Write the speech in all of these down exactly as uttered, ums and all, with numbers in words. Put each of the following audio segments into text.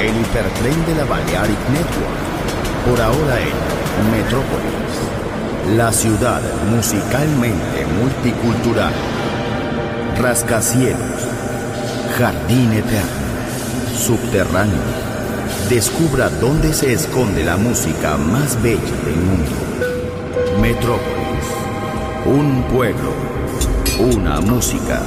el hipertren de la Balearic Network. Por ahora en Metrópolis, la ciudad musicalmente multicultural. Rascacielos, jardín eterno, subterráneo. Descubra dónde se esconde la música más bella del mundo. Metrópolis, un pueblo, una música.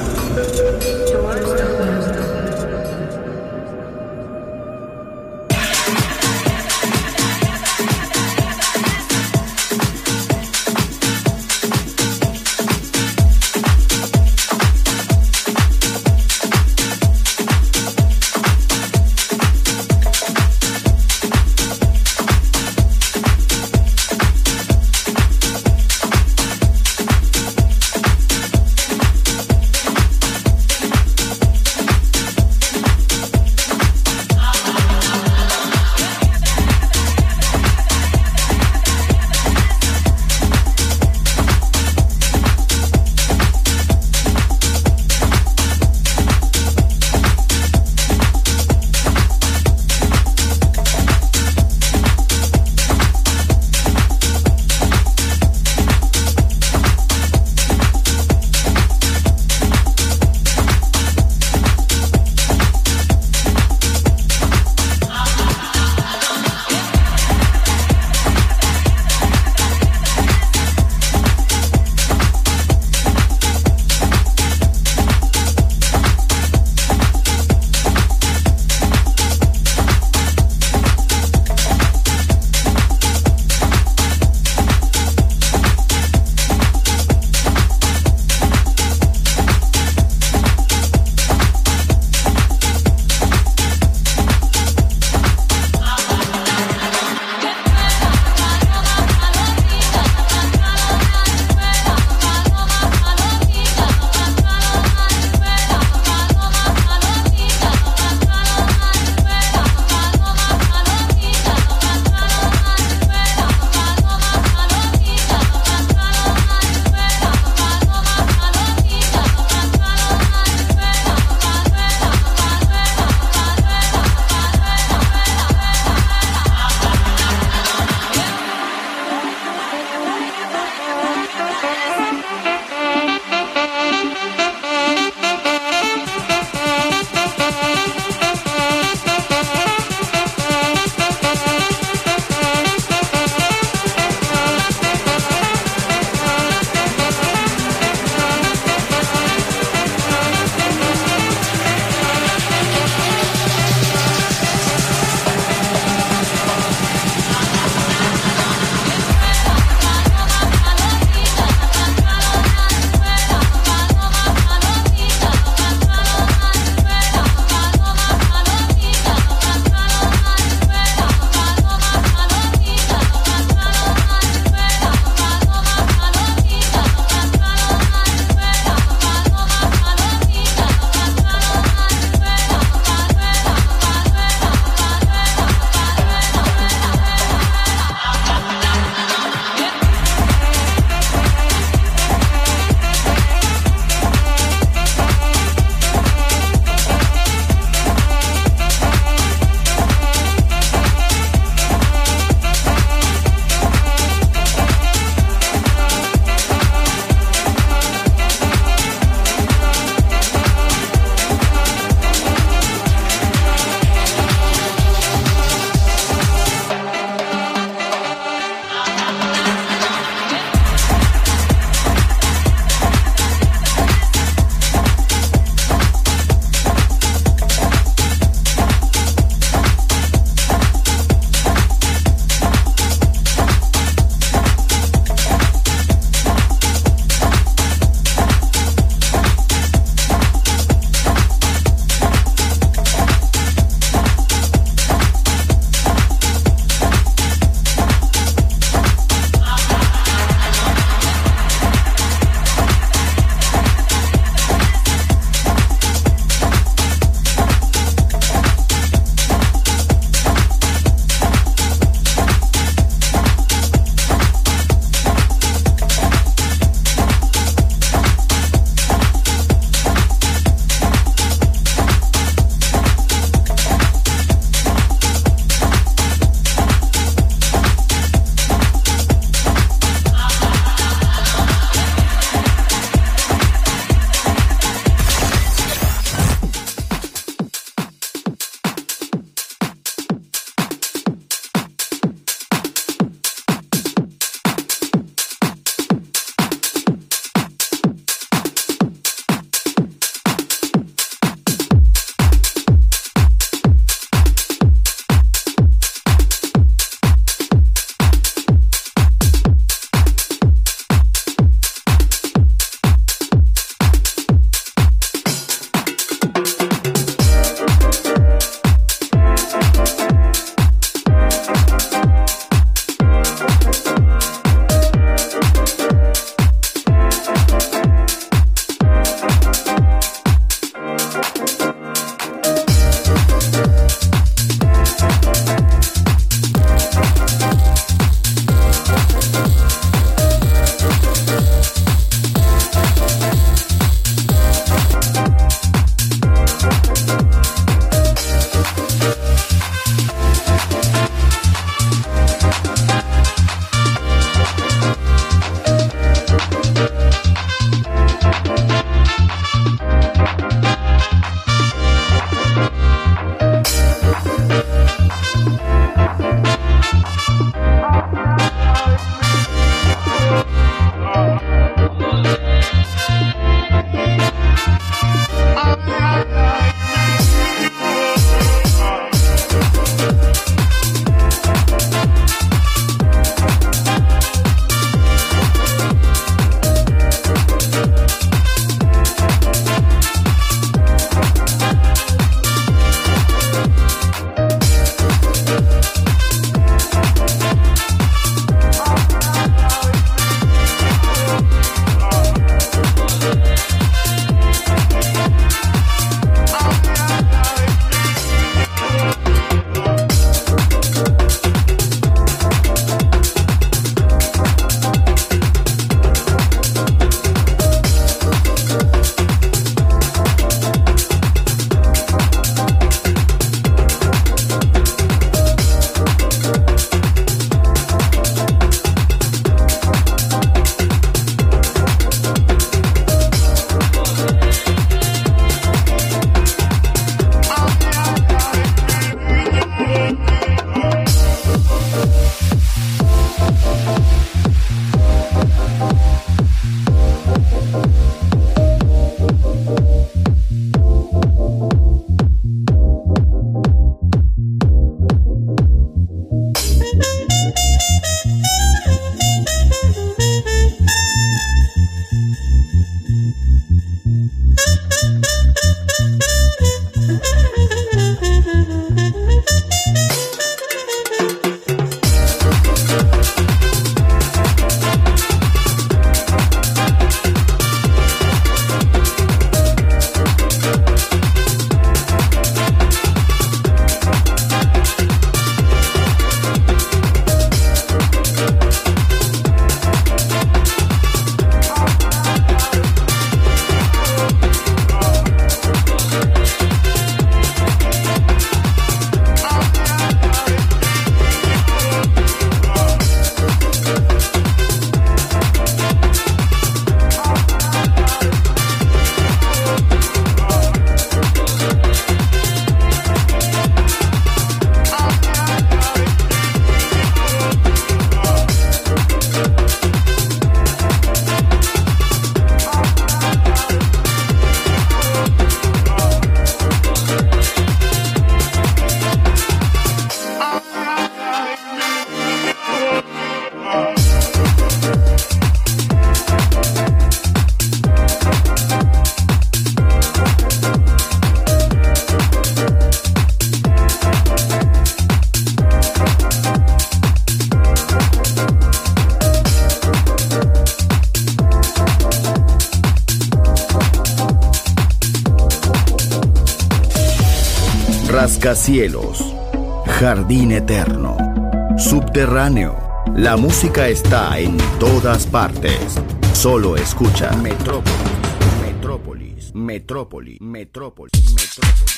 rascacielos, jardín eterno, subterráneo. La música está en todas partes. Solo escucha Metrópolis, Metrópolis, Metrópolis, Metrópolis, Metrópolis.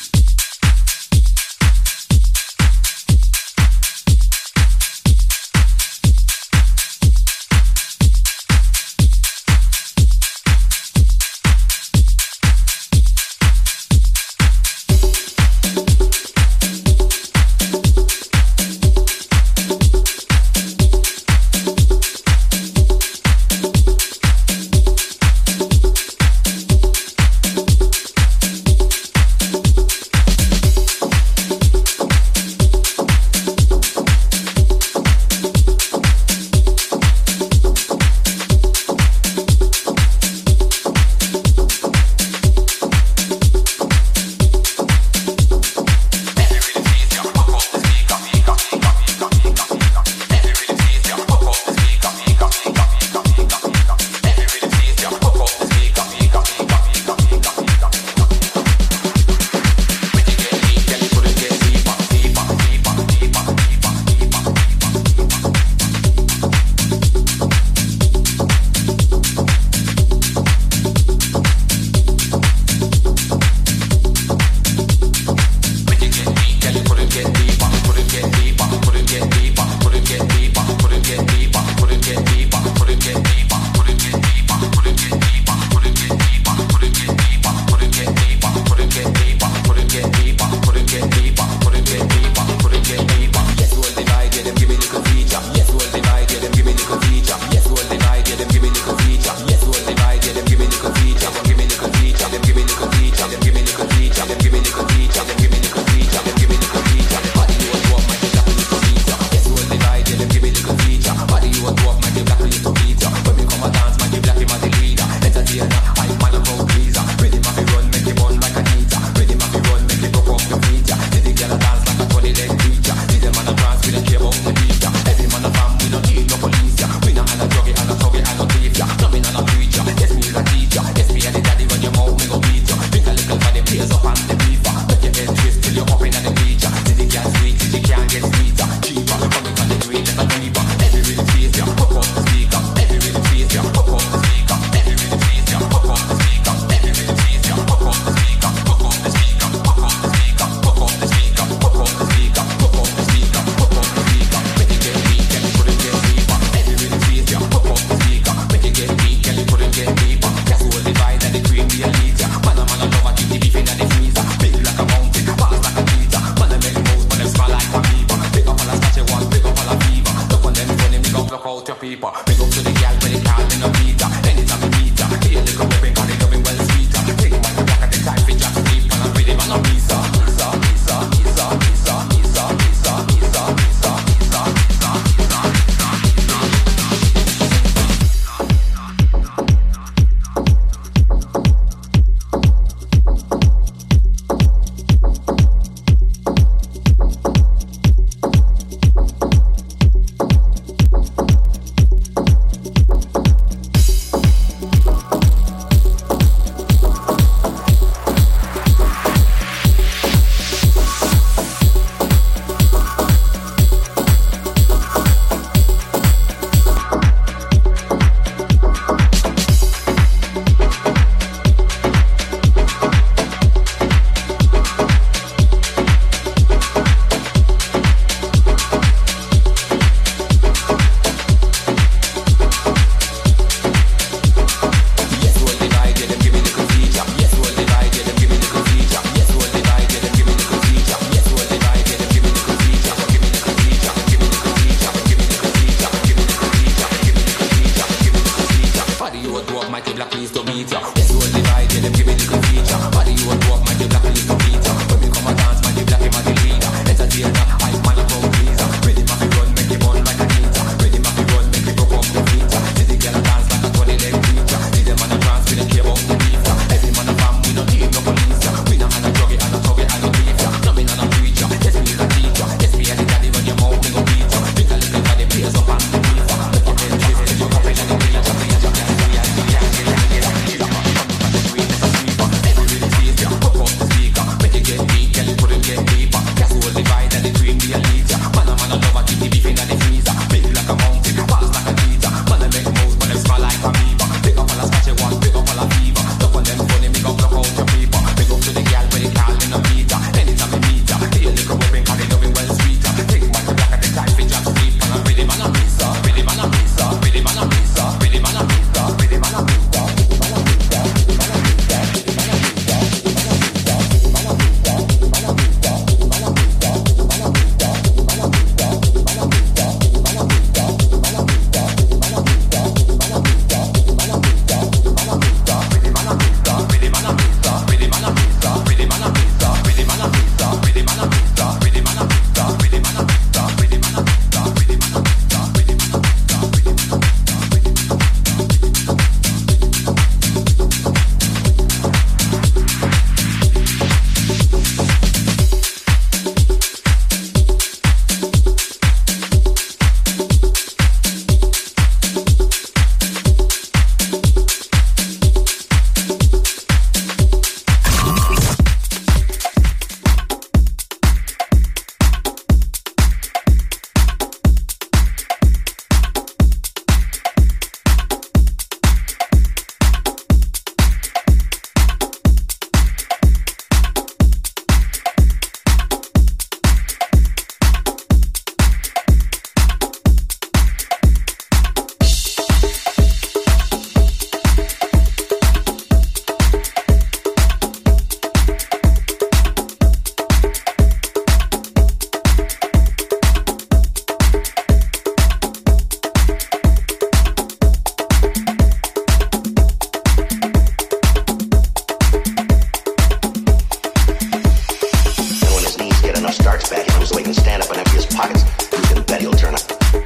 pockets, you can bet he'll turn up.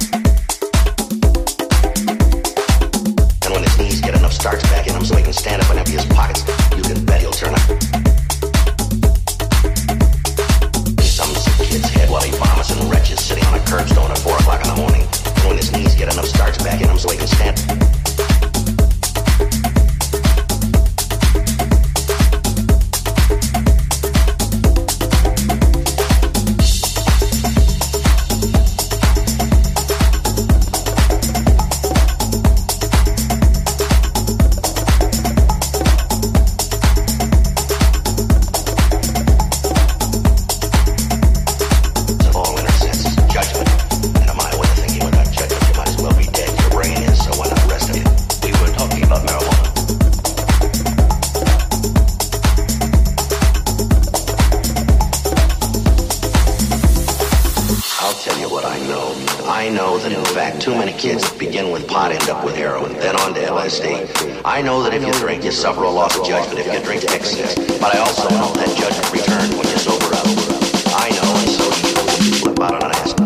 And when his knees get enough starch back in him so he can stand up and empty his pockets, you can bet he'll turn up. Some sick kid's head while he vomits and retches sitting on a curbstone at four o'clock in the morning. And when his knees get enough starch back in him so he can stand. I know that if you drink, you suffer a loss of judgment if you drink to excess. But I also know that judgment returns when you sober up. I know, and so do you, when you flip out on an ass.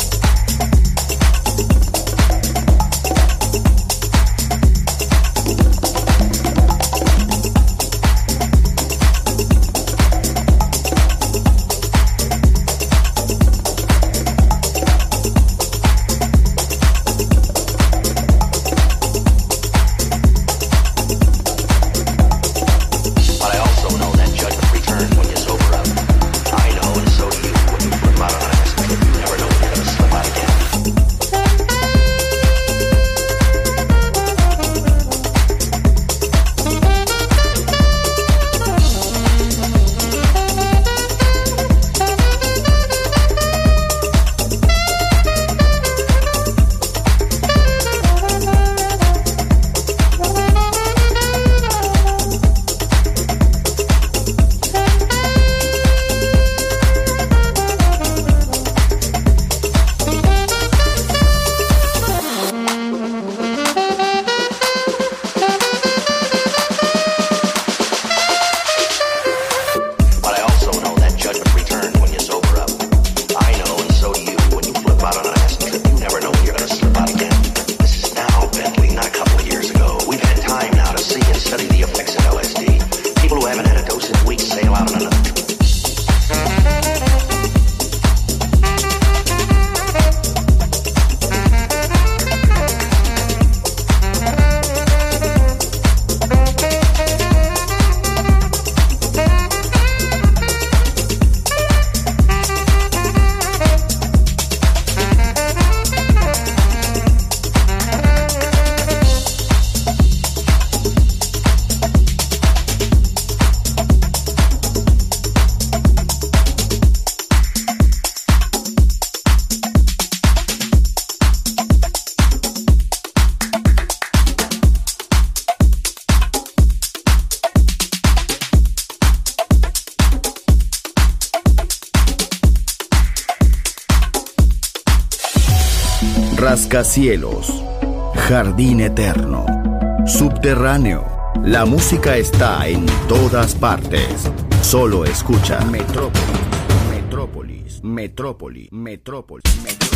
Rascacielos, Jardín Eterno, Subterráneo. La música está en todas partes. Solo escucha Metrópolis, Metrópolis, Metrópolis, Metrópolis, Metrópolis.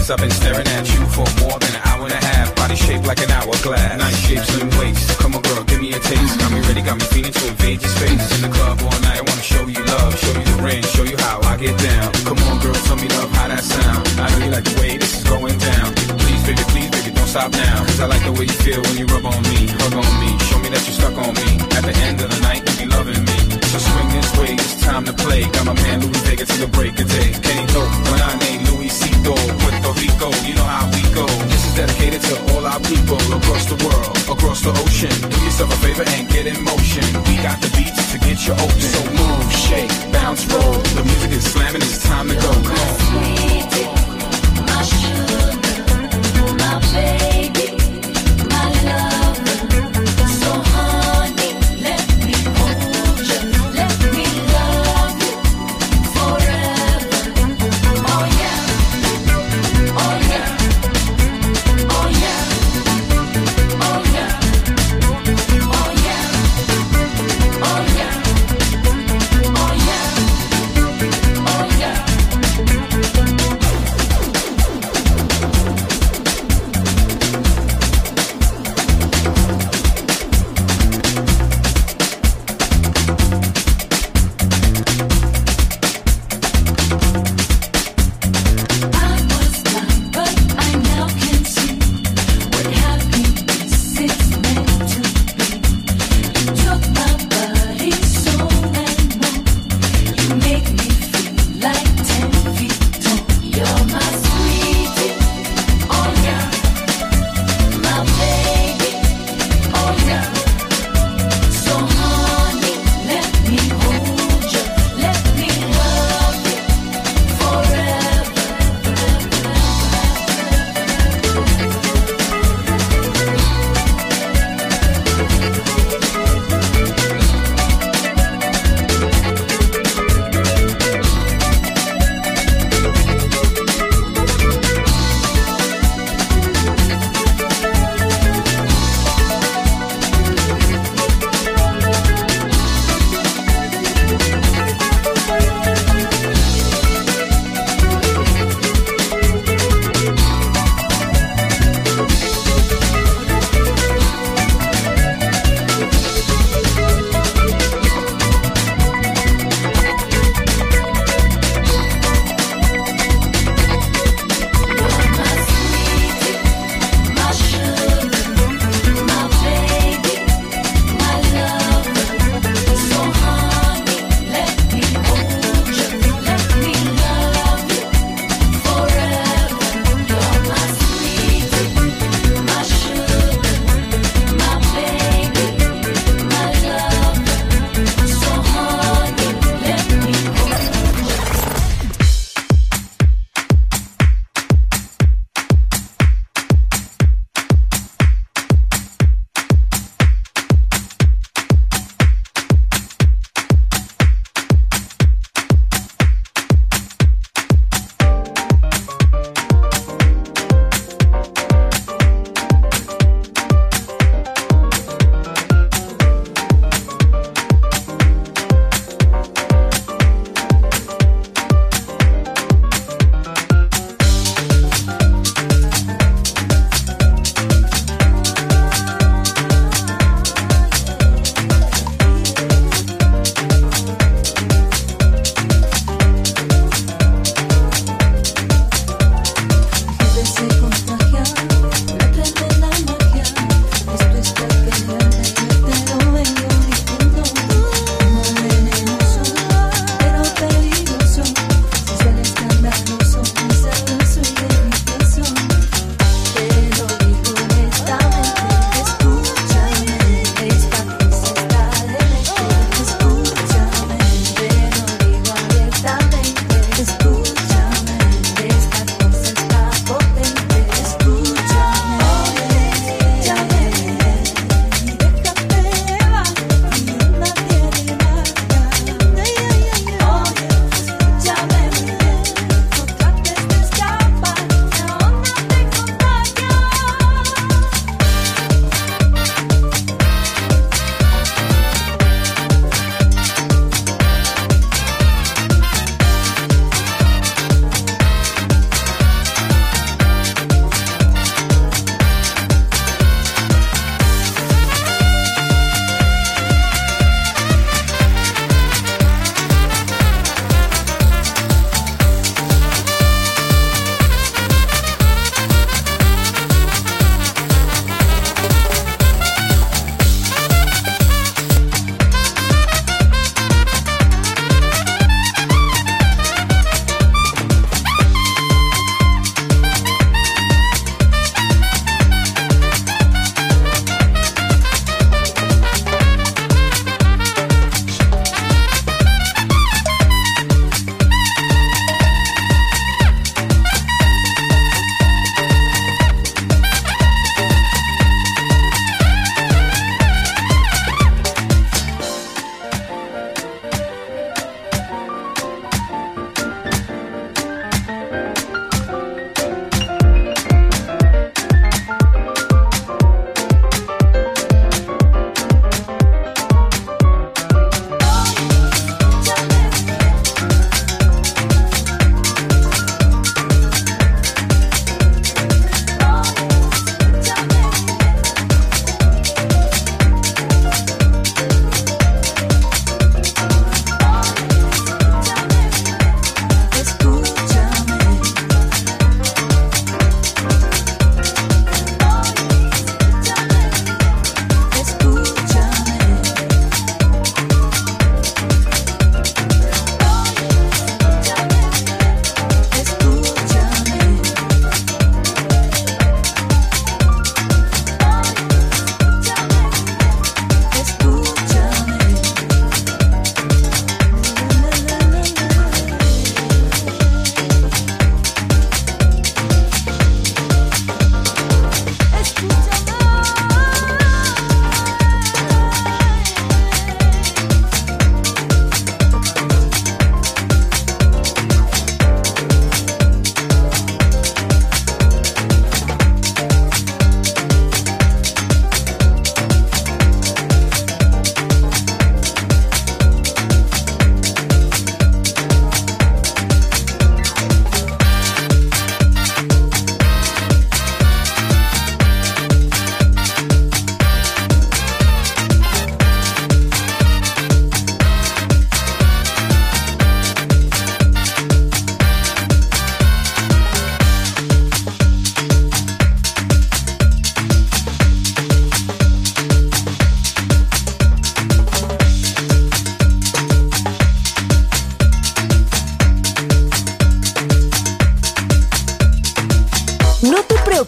I've been staring at you for more than an hour and a half. Body shaped like an hourglass. Nice shape, slim waist. Come on, girl, give me a taste. Got me ready, got me feeling to invade your space. In the club all night, I wanna show you love, show you the ring, show you how I get down. Come on, girl, tell me love, how that sound. I know you like the way this is going down. Please, baby, please, baby, don't stop now. Cause I like the way you feel when you rub on me, hug on me. Show me that you're stuck on me. At the end of the night, you be loving me. So swing this way, it's time to play. Got my man Louis Vega to the break of day. Kenny Dope, when I name Louis Cito, Puerto Rico, you know how we go. This is dedicated to all our people across the world, across the ocean. Do yourself a favor and get in motion. We got the beats to get you open. So move, shake, bounce, roll. The music is slamming, it's time to go. Come on. Sweetie, my sugar, my baby, my lover. So honey, let me hold you, let me love you forever. Oh yeah, oh yeah, oh yeah, oh yeah, oh yeah, oh yeah, oh yeah, oh yeah.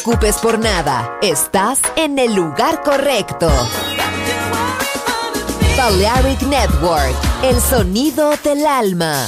preocupes por nada. Estás en el lugar correcto. Balearic Network, el sonido del alma.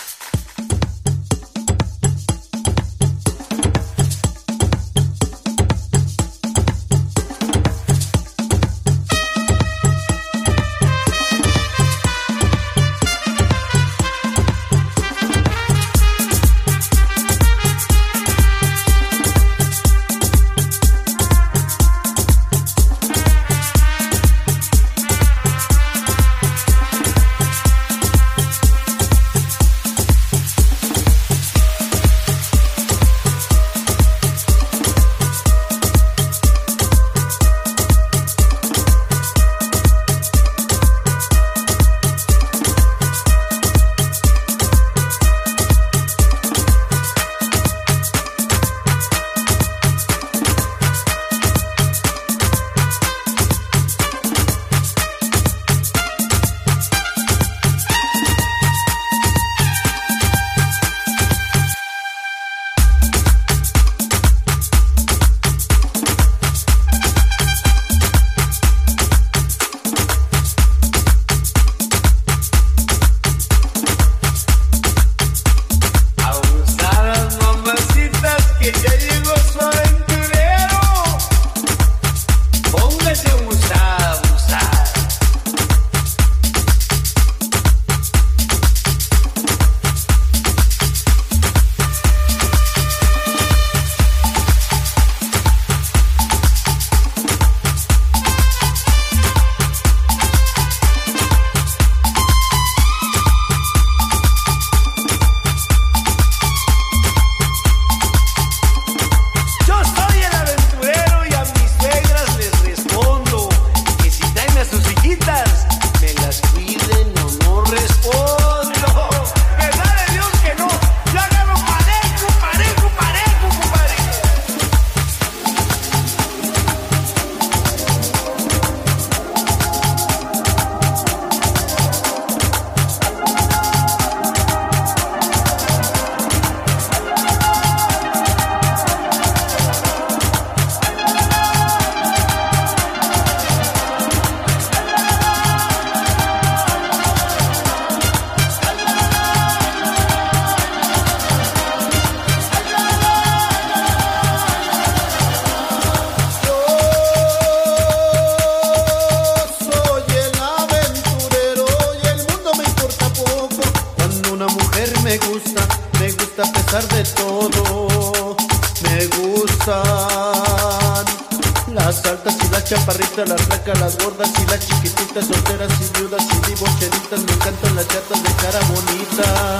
chaparritas, las flacas, las gordas y las chiquititas, solteras y viudas y divorciaditas, me encantan las chatas de cara bonita.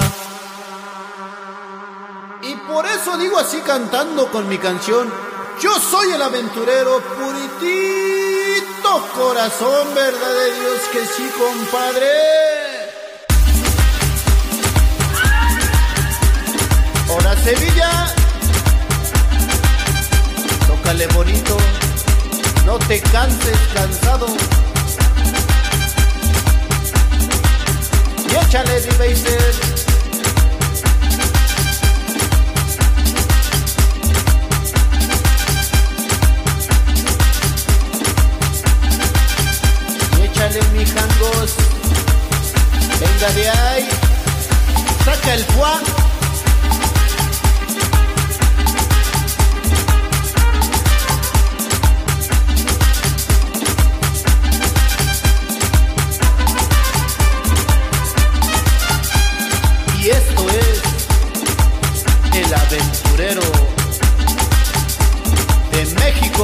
Y por eso digo así cantando con mi canción: yo soy el aventurero, puritito corazón, verdad de Dios que sí, compadre. Ahora Sevilla, tócale bonito, no te canses cansado, y échale de baser. Y échale mi jangos, venga de ahí, saca el fuá. Y esto es el aventurero de México.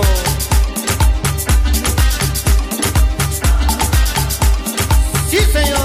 Sí, señor.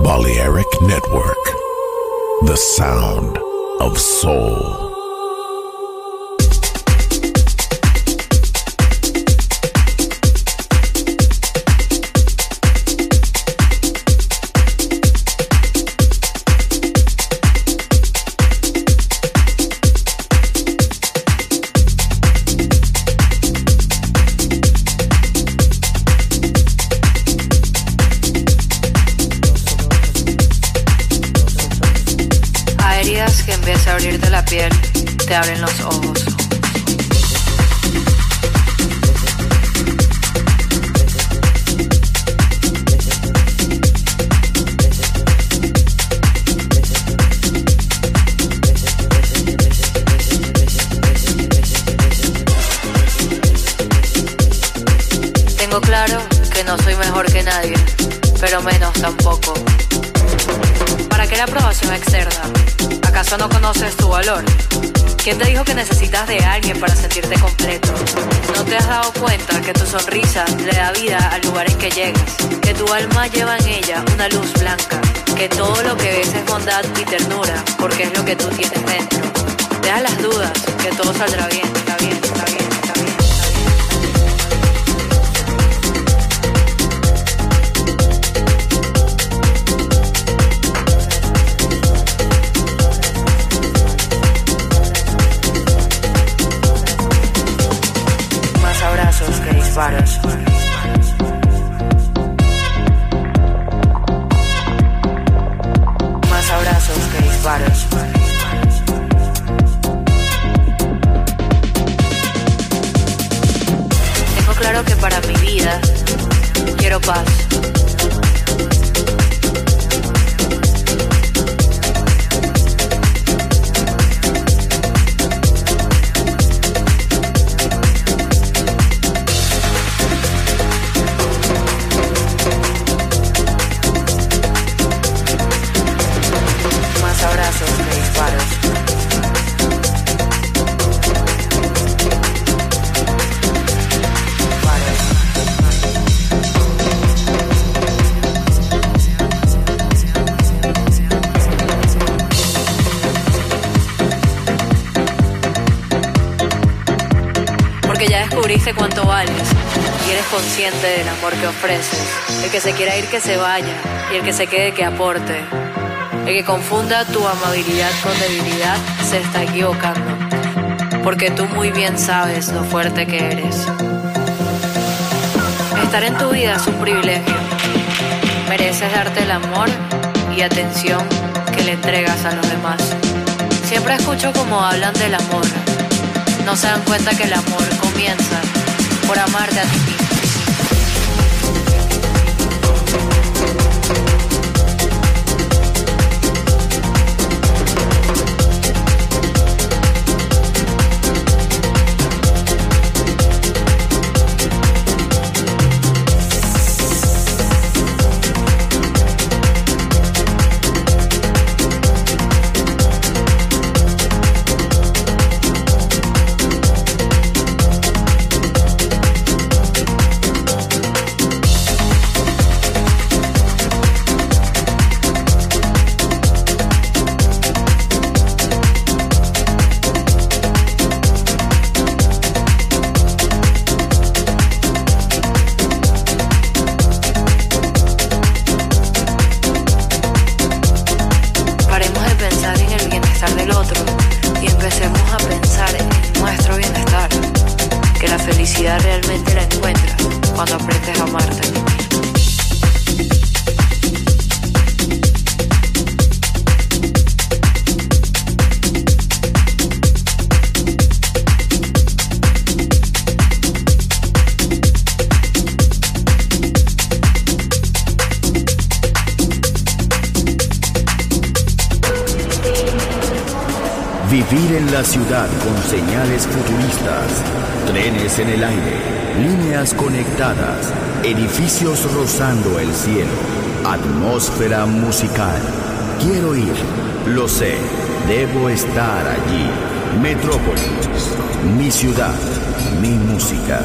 Balearic Network, the sound of soul. Abrirte la piel, te abren los ojos. Tengo claro que no soy mejor que nadie, pero menos tampoco. ¿Para qué la aprobación externa? ¿Acaso no conoces tu valor? ¿Quién te dijo que necesitas de alguien para sentirte completo? ¿No te has dado cuenta que tu sonrisa le da vida a lugares que llegas? Que tu alma lleva en ella una luz blanca. Que todo lo que ves es bondad y ternura, porque es lo que tú tienes dentro. Deja las dudas, que todo saldrá bien, está bien, está bien, está bien, está bien. Que disparos. Más abrazos que disparos. Tengo claro que para mi vida quiero paz. Descubriste cuánto vales y eres consciente del amor que ofreces. El que se quiera ir que se vaya y el que se quede que aporte. El que confunda tu amabilidad con debilidad se está equivocando, porque tú muy bien sabes lo fuerte que eres. Estar en tu vida es un privilegio. Mereces darte el amor y atención que le entregas a los demás. Siempre escucho cómo hablan del amor. No se dan cuenta que el amor comienza por amarte a ti mismo. Realmente la encuentras cuando aprendes a amarte. Vivir en la ciudad con señales futuristas, trenes en el aire, líneas conectadas, edificios rozando el cielo, atmósfera musical. Quiero ir, lo sé, debo estar allí. Metrópolis, mi ciudad, mi música.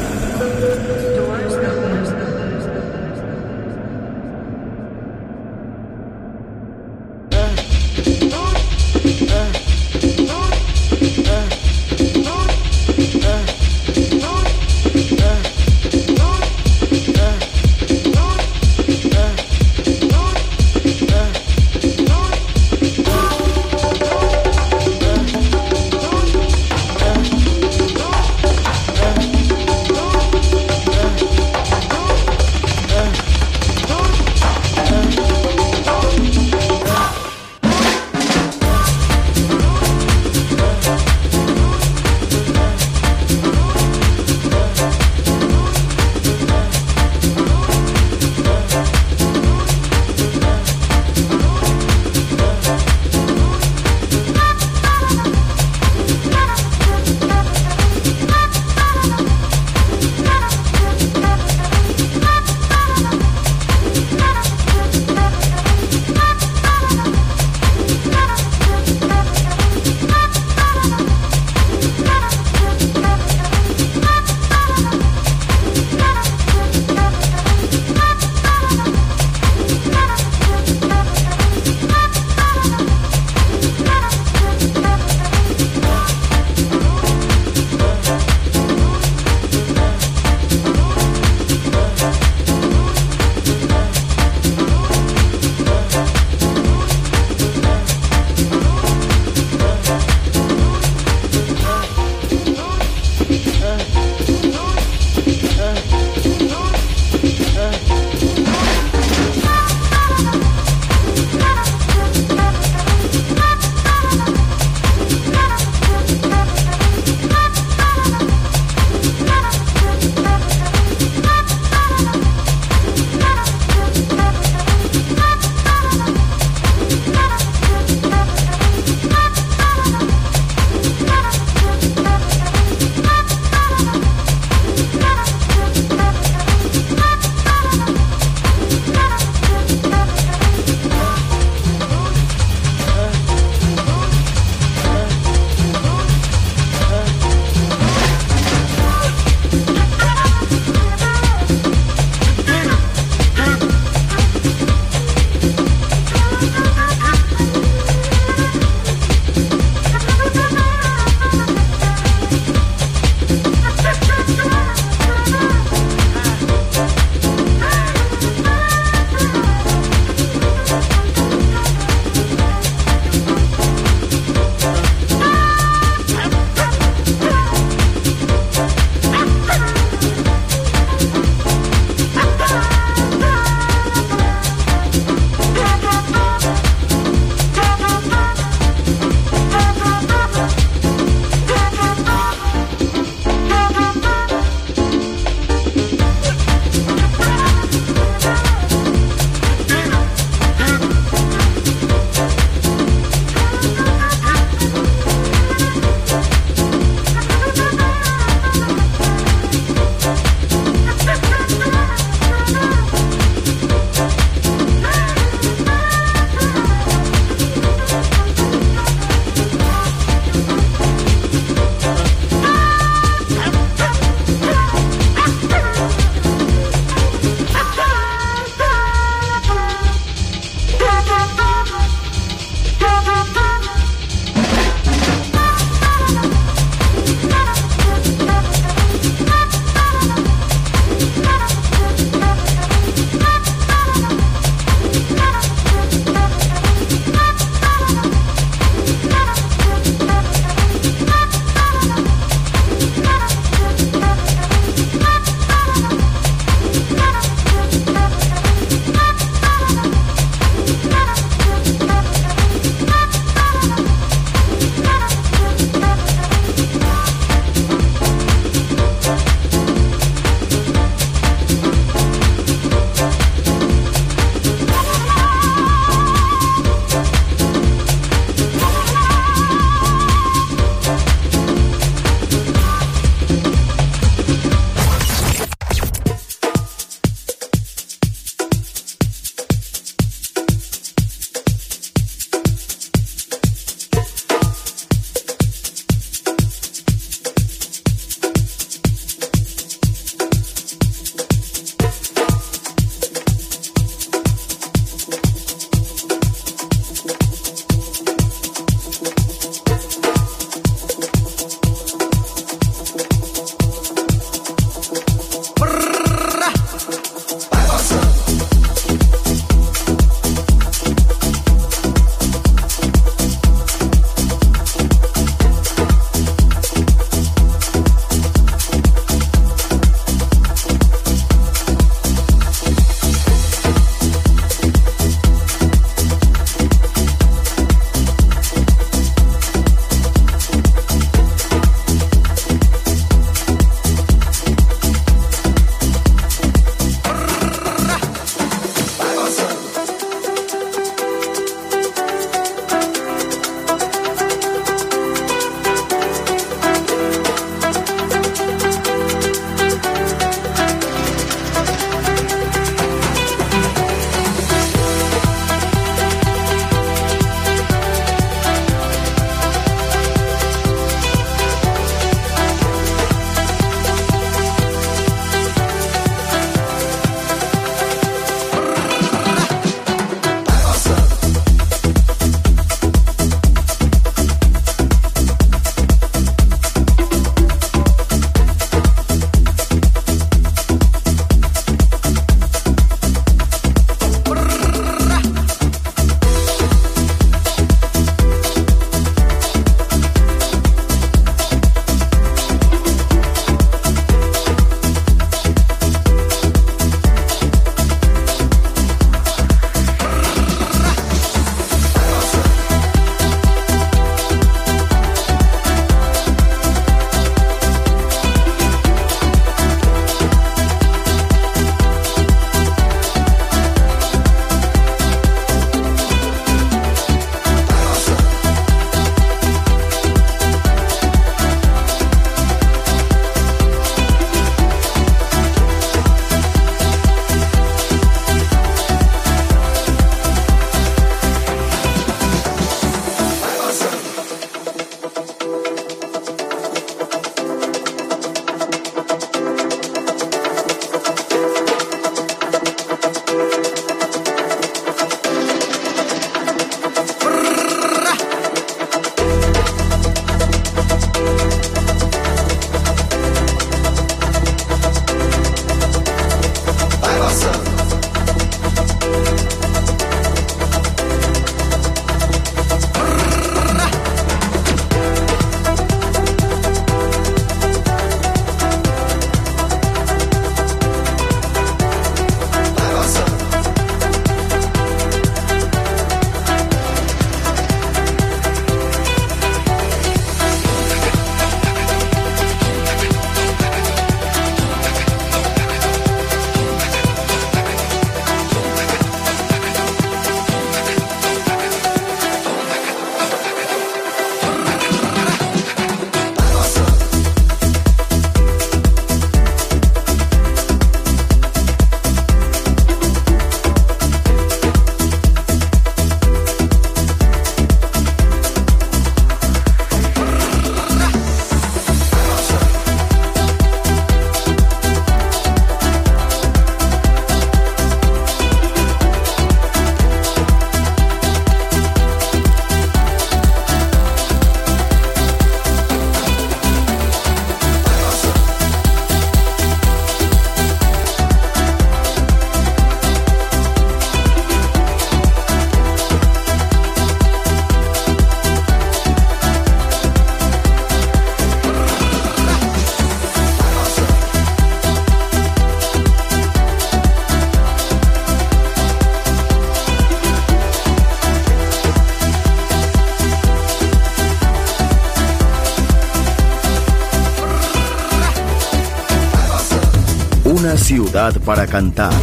ciudad para cantar,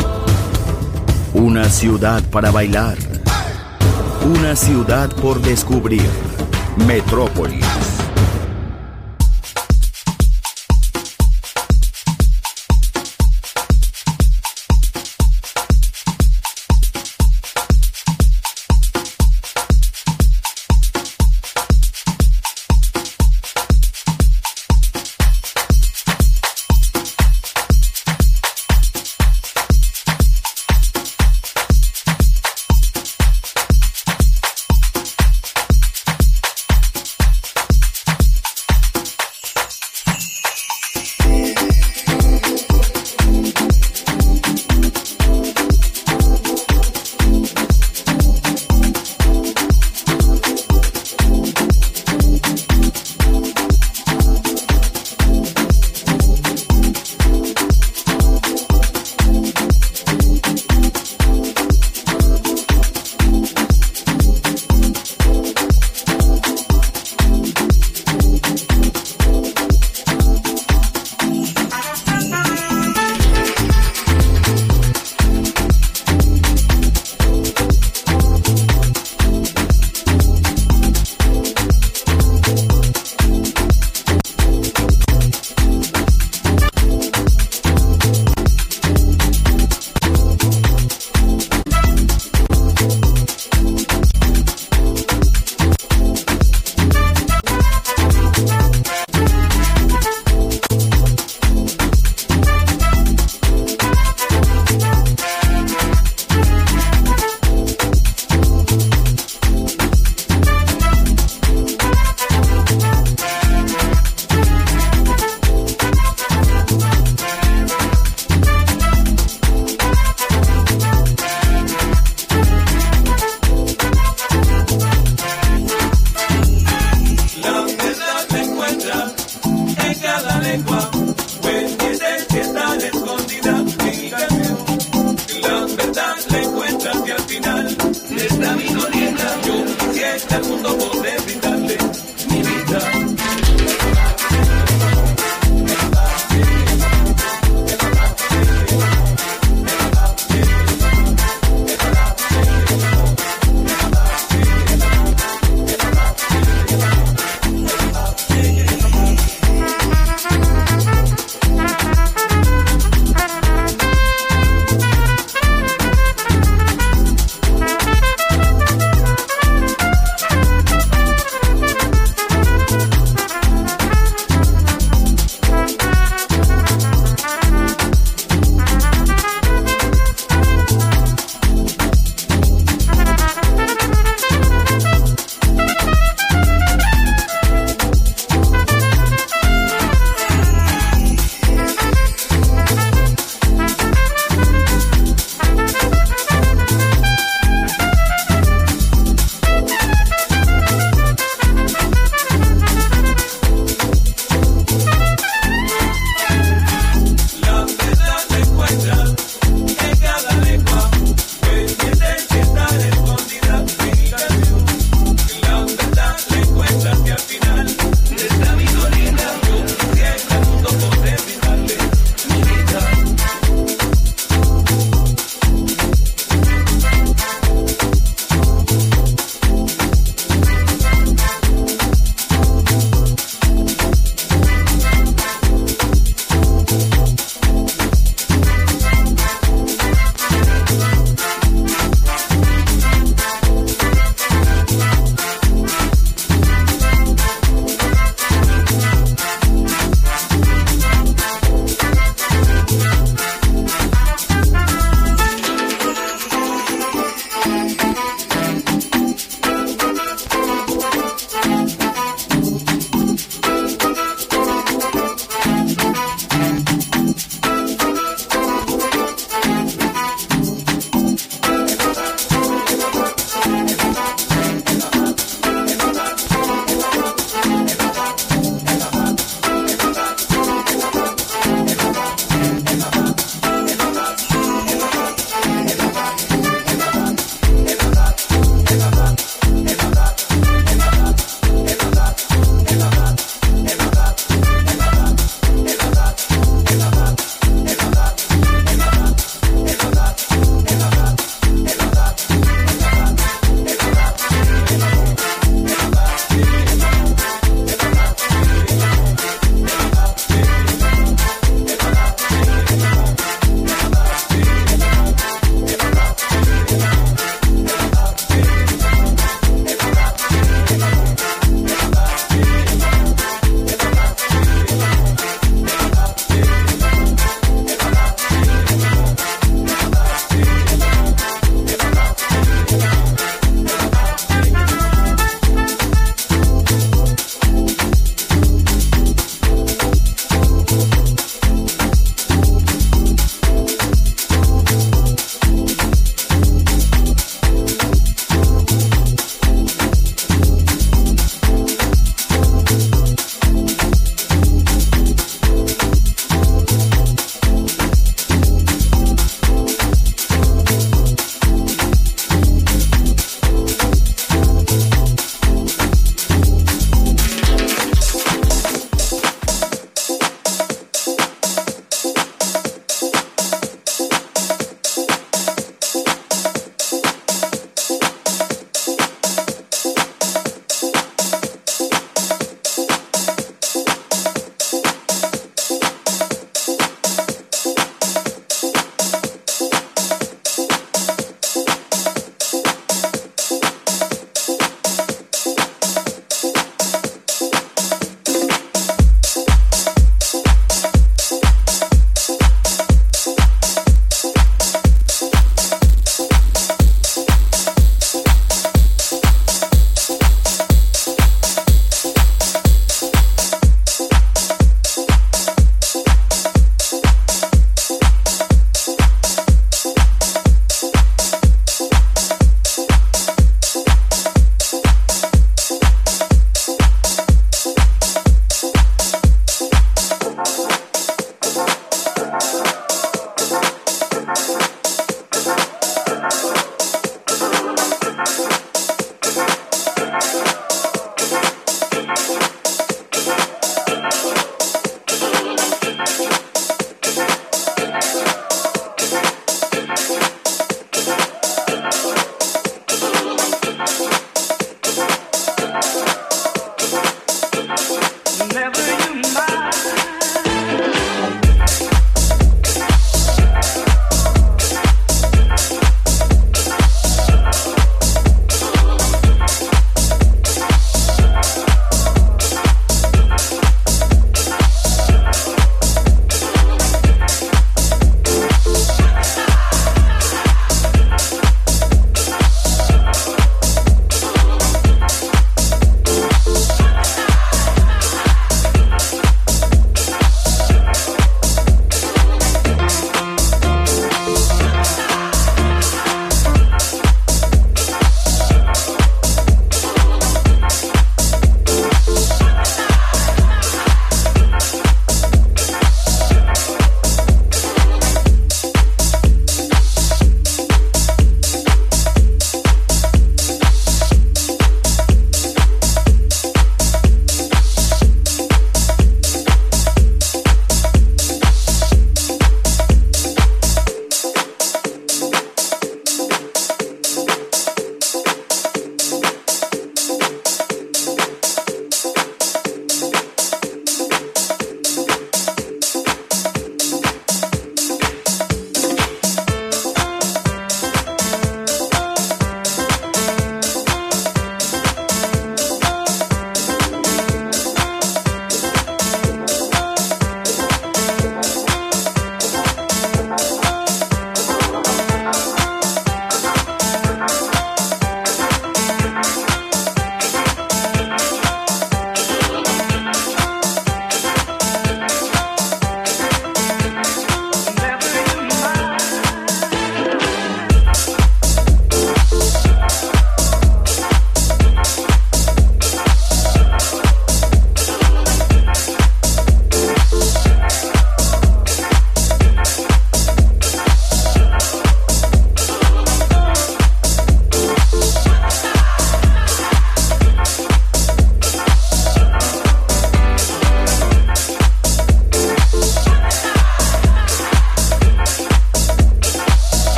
una ciudad para bailar, una ciudad por descubrir. Metrópolis.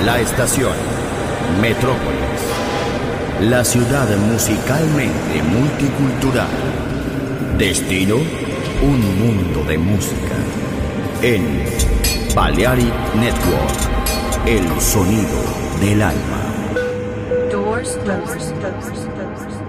La estación Metrópolis, la ciudad musicalmente multicultural. Destino, un mundo de música. En Balearic Network, el sonido del alma. Doors closed.